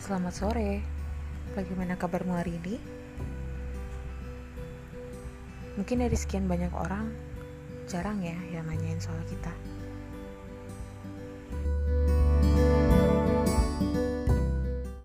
Selamat sore, bagaimana kabarmu hari ini? Mungkin dari sekian banyak orang, jarang ya yang nanyain soal kita.